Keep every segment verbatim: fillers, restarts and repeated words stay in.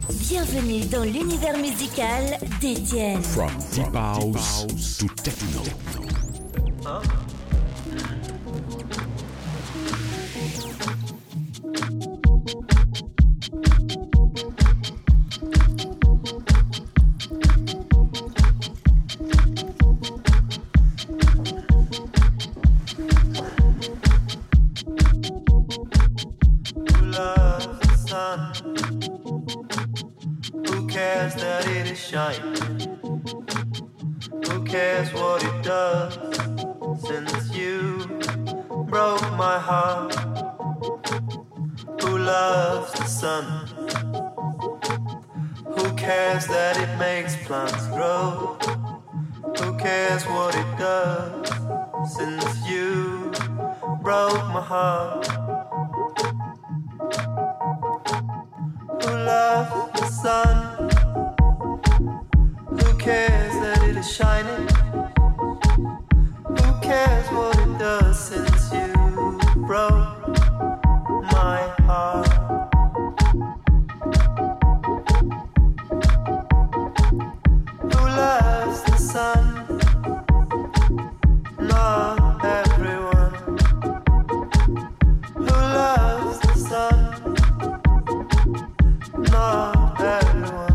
Bienvenue dans l'univers musical d'Étienne. From deep house to techno. Huh? Who cares what it does? Since you broke my heart. Who loves the sun? Who cares that it makes plants grow? Who cares what it does? Since you broke my heart. Who loves the sun? Who cares that it is shining? Who cares what it does since you broke my heart? Who loves the sun? Not everyone. Who loves the sun? Not everyone.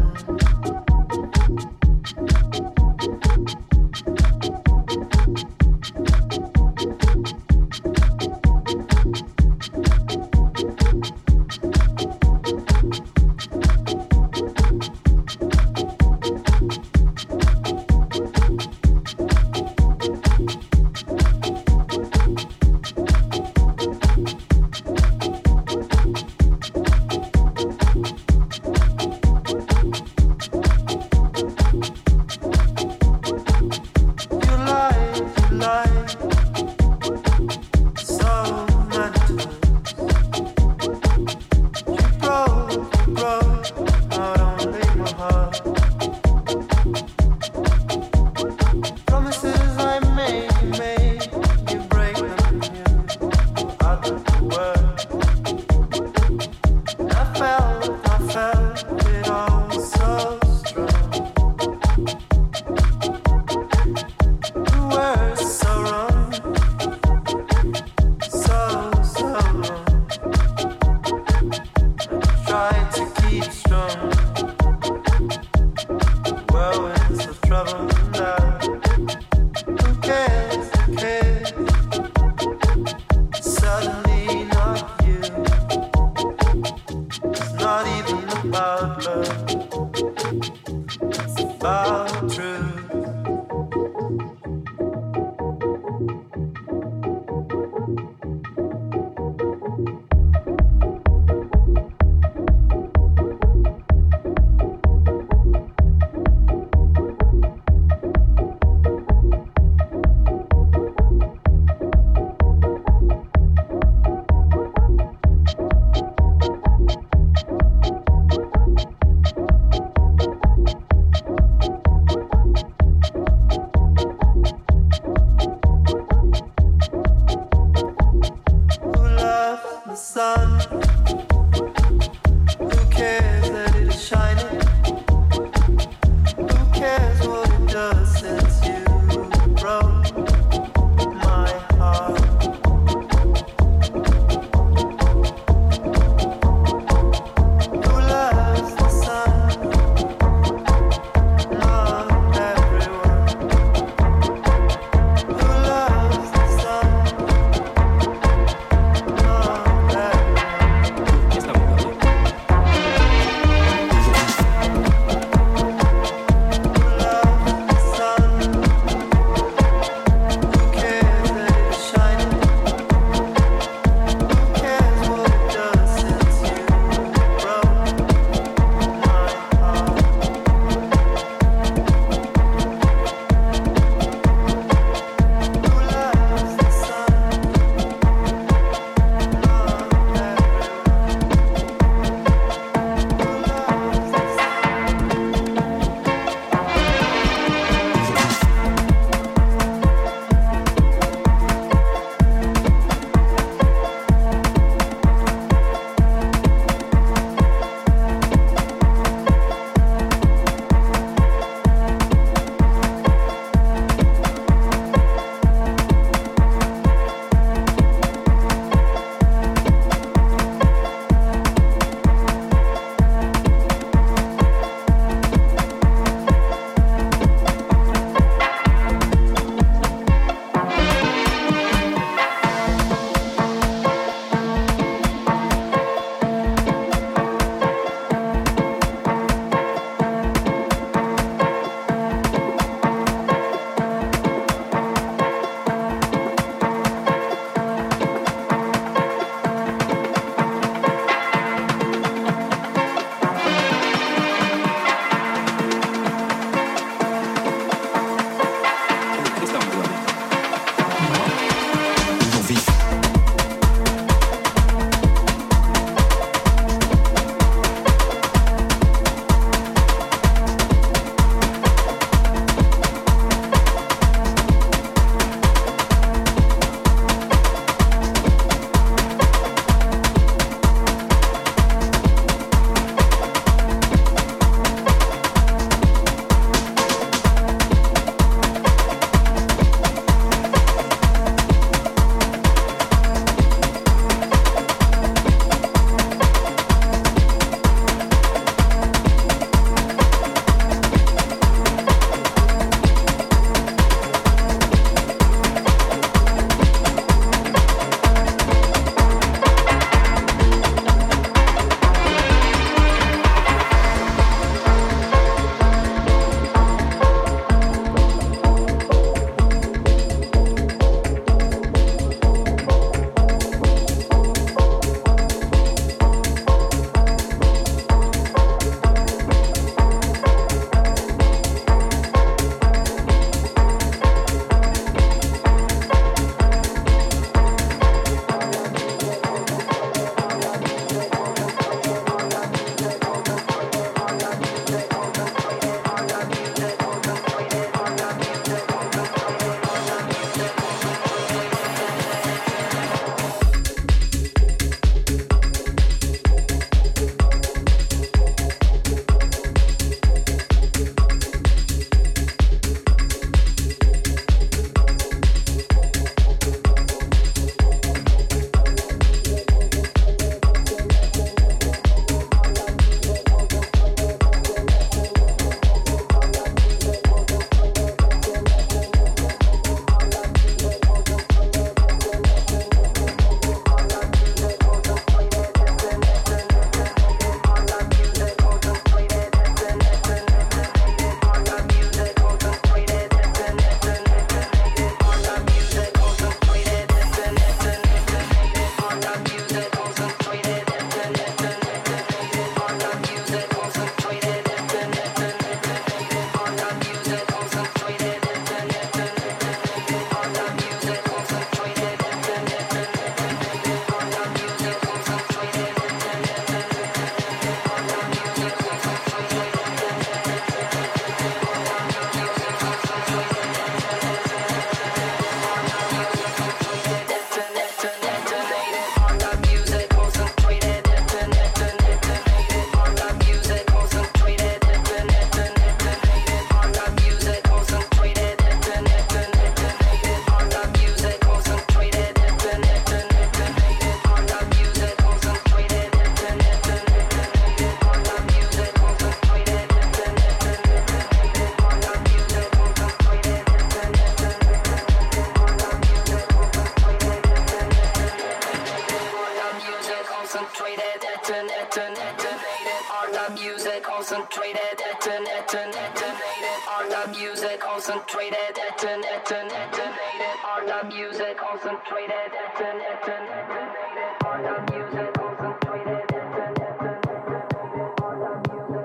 Art of music concentrated, eton, eton, detonated. Art of music concentrated, eton, eton, detonated. Art of music concentrated, eton, eton, detonated. Art of music concentrated, eton, eton, detonated. Art of music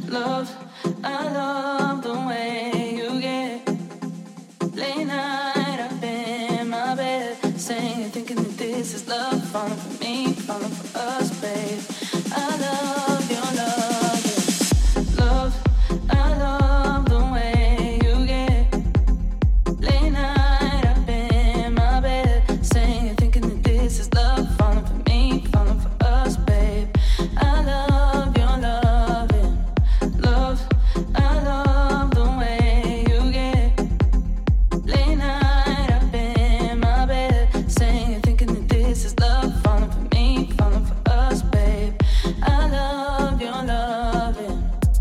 Love, I love the way you get. Late night up in my bed, saying, thinking that this is love, falling for me, falling for us, babe. I love your love, yeah. Love, I love the way you get. Late night up in my bed, saying, thinking that this is love, falling for me, falling for us, babe. I love your love, yeah. Love, I love the way you get. Late night up in my bed, saying, thinking that this is love, falling for me, falling for us, babe. I love your love, yeah.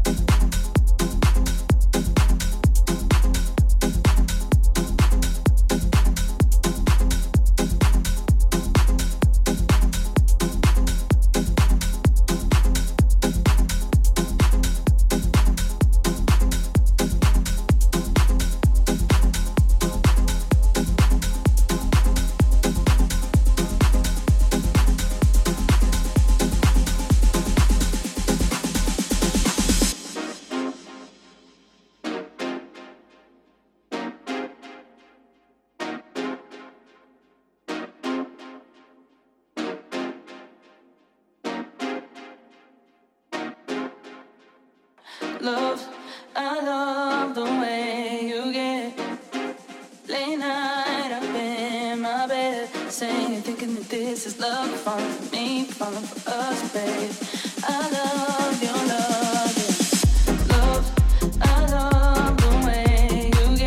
Love, I love the way you get. Late night up in my bed, saying, thinking that this is love, falling for me, falling for us, babe. I love your love, yeah. Love, I love the way you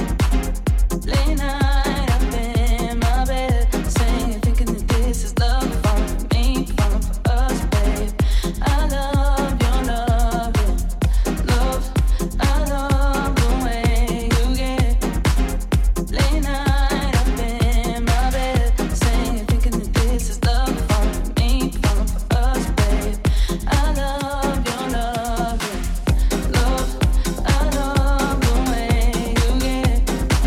get. Late night up in my bed, saying, thinking that this is love, falling for me, falling for us, babe. I love your love, yeah. Love, I love the way you get. Late night up in my bed, saying, thinking that this is love, falling for me, falling for us, babe. I love your love, yeah. Love, I love the way you get.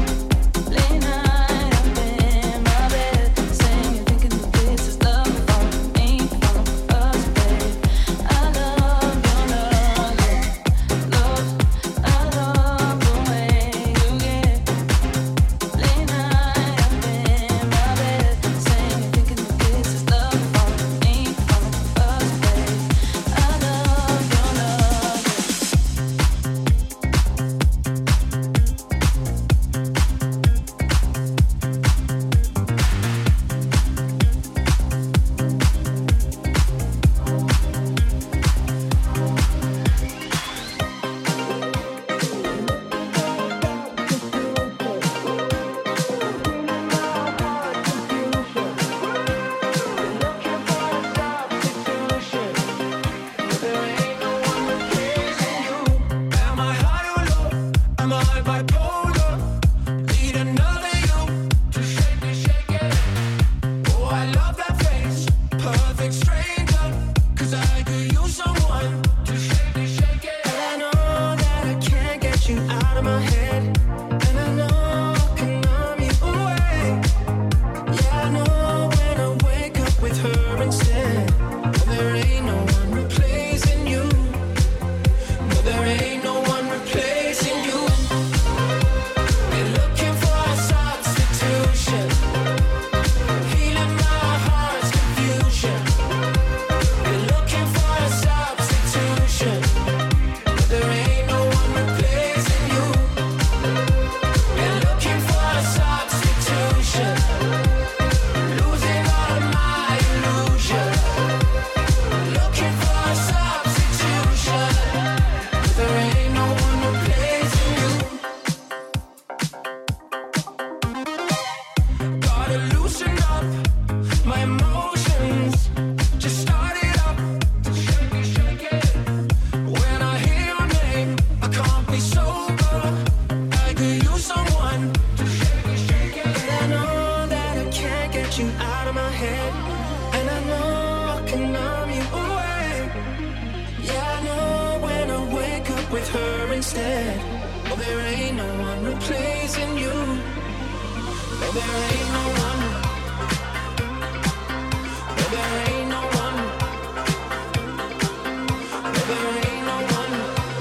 Late night up in my bed, saying, thinking that this is love, falling for me, falling for us, babe. I love your love, yeah. Love, I love the way you get. Late night up in my bed, saying, thinking that this is love, falling for me, falling for us, babe. I love your love, yeah. Am I high or low? Am I bipolar? Need another you to shake me, shake it. Oh, I love that face, perfect stranger. 'Cause I could use someone to shake me, shake it. And I know that I can't get you out of my head. And I know I can numb you away. Yeah, I know when I wake up with her instead. There ain't no one replacing you. No, there ain't no one replacing you. Been looking for a substitution, healing my heart's confusion. Been looking for a substitution, but there ain't no one replacing you. Been looking for a substitution, losing all of my illusion. Looking for a substitution, but there ain't no one replacing you. Gotta loosen up my emotions. Just start it up, shake me, shake it. When I hear your name, I can't be sober. I could use someone to shake me, shake it. And I know that I can't get you out of my head. And I know I can numb you away. Yeah, I know when I wake up with her instead. Oh, there ain't no one replacing you. No, there ain't no one. No, there ain't no one. No, there ain't no one.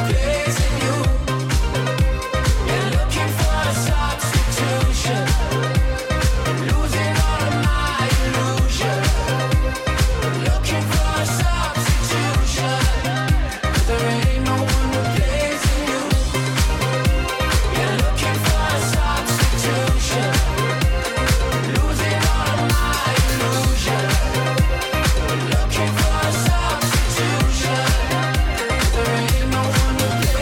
replacing you. Been looking for a substitution, losing all of my illusion. Looking for a substitution, there ain't no one replacing you. Been looking for a substitution, losing all of my illusion. Looking for a substitution, there ain't no one replacing you.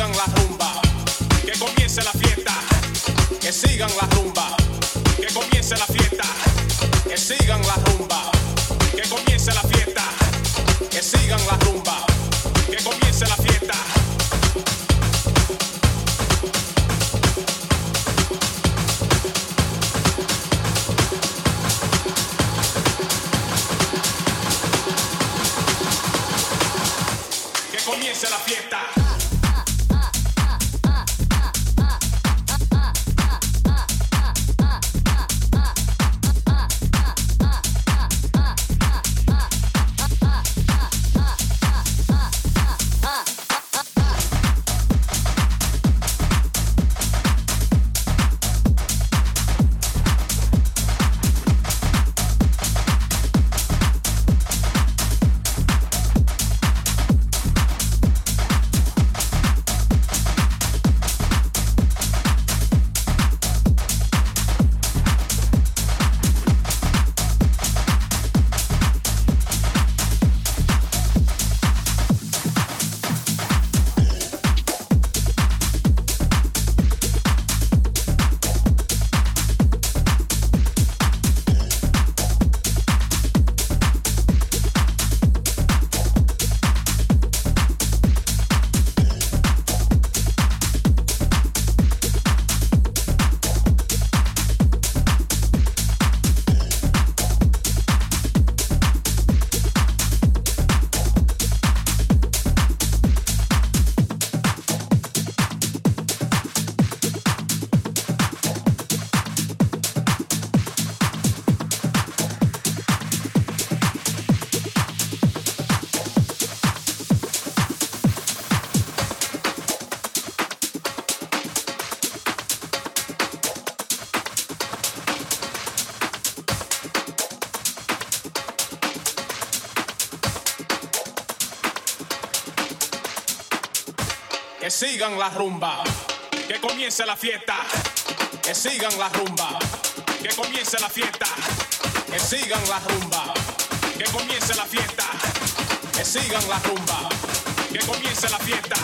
sigan la rumba, que comience la fiesta, que sigan la rumba, que comience la fiesta, que sigan la rumba, que comience la fiesta, que sigan la rumba, que comience la fiesta. Que comience la fiesta. Que sigan la rumba, que comience la fiesta, que sigan la rumba, que comience la fiesta, que sigan la rumba, que comience la fiesta, que sigan la rumba, que comience la fiesta.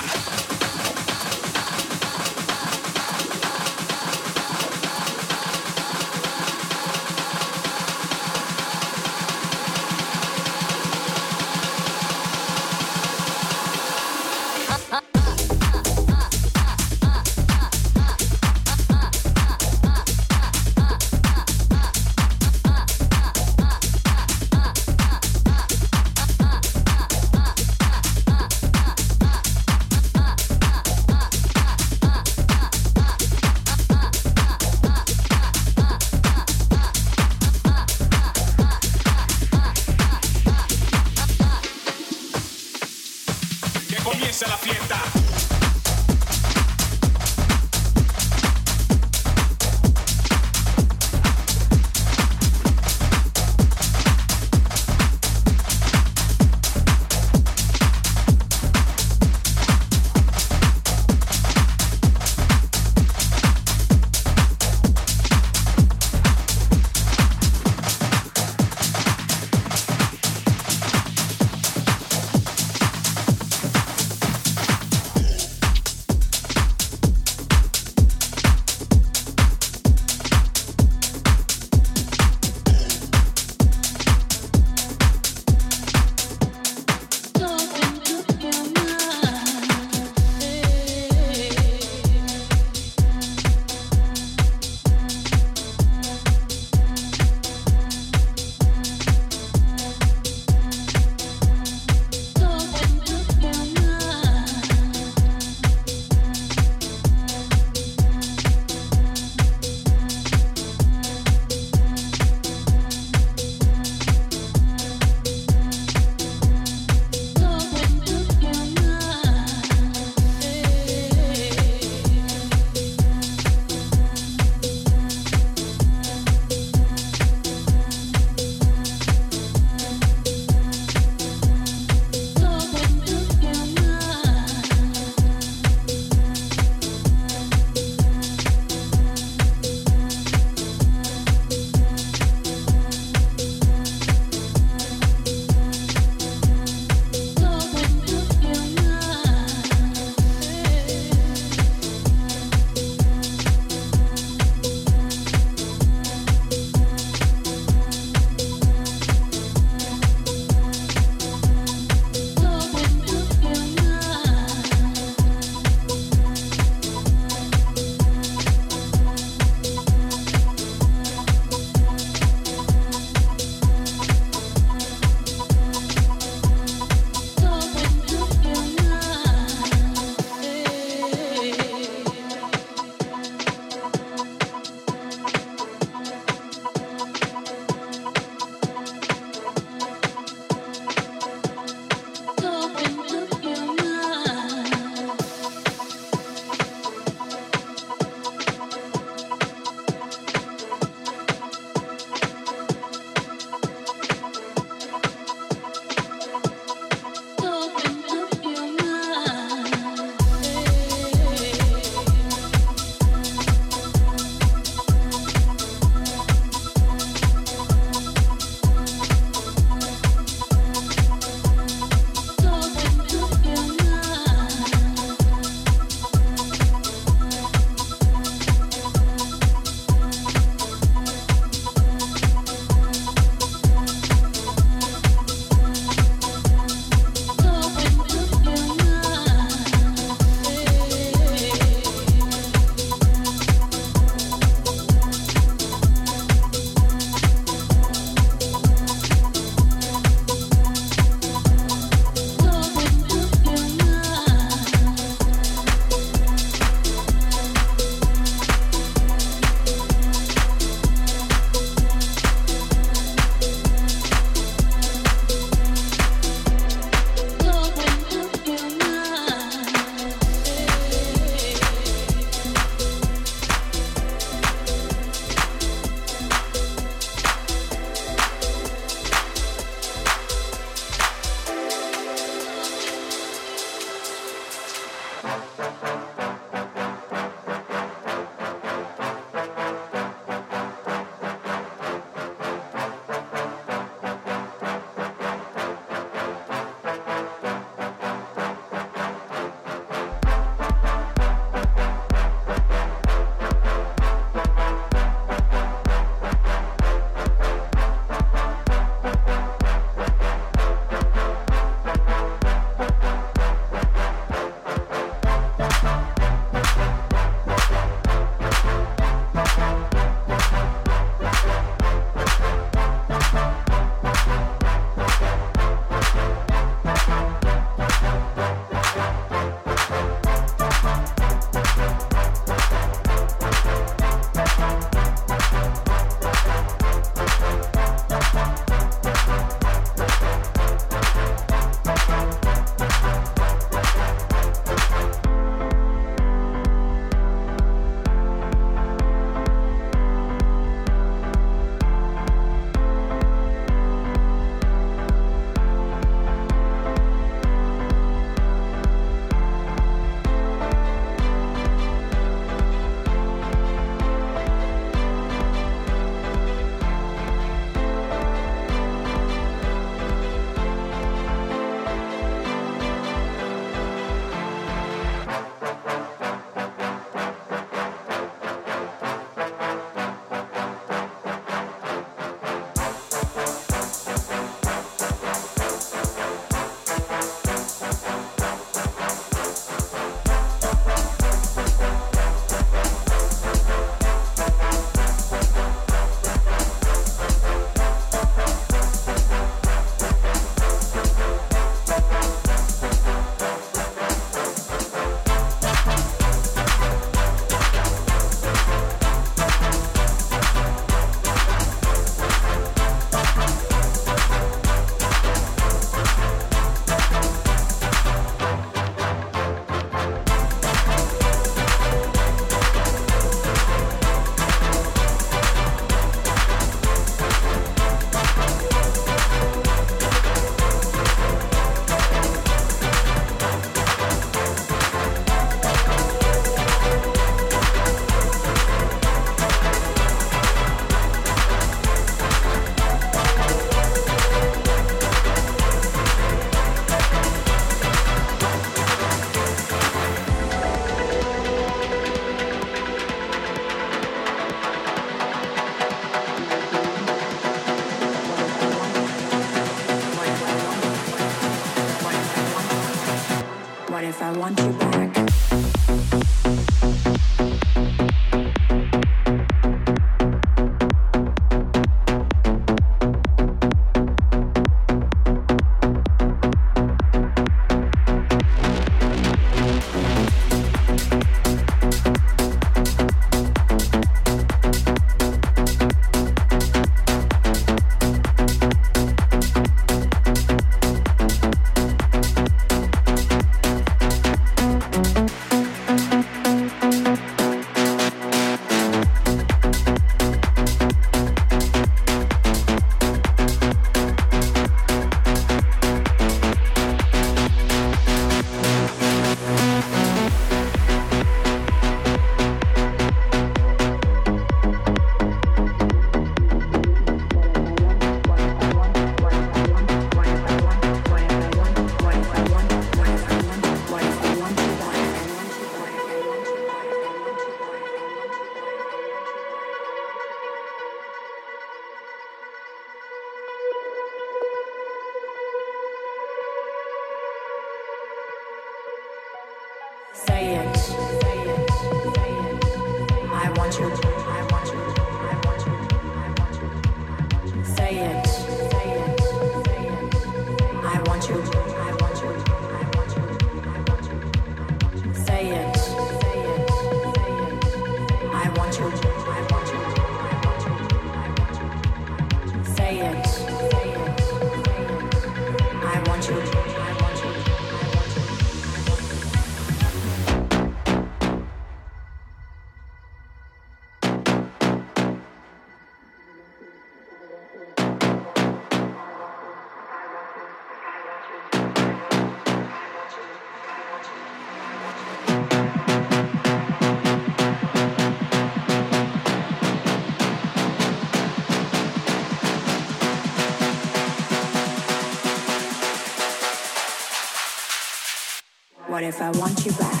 life, I want you back.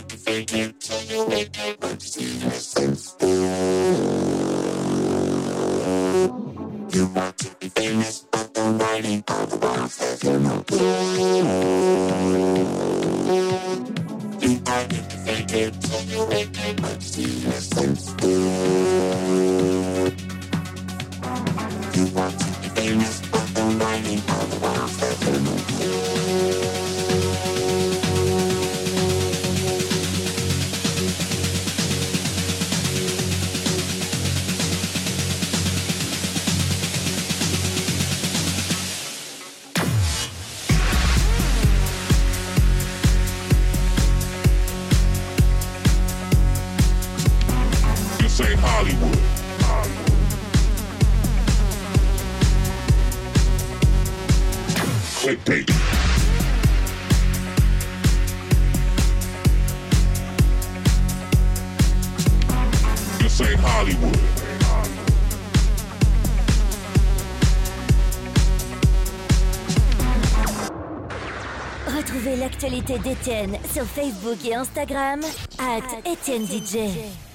Fake it till you make it, but you see the sense. Retrouvez l'actualité d'Étienne sur Facebook et Instagram, at Étienne D J.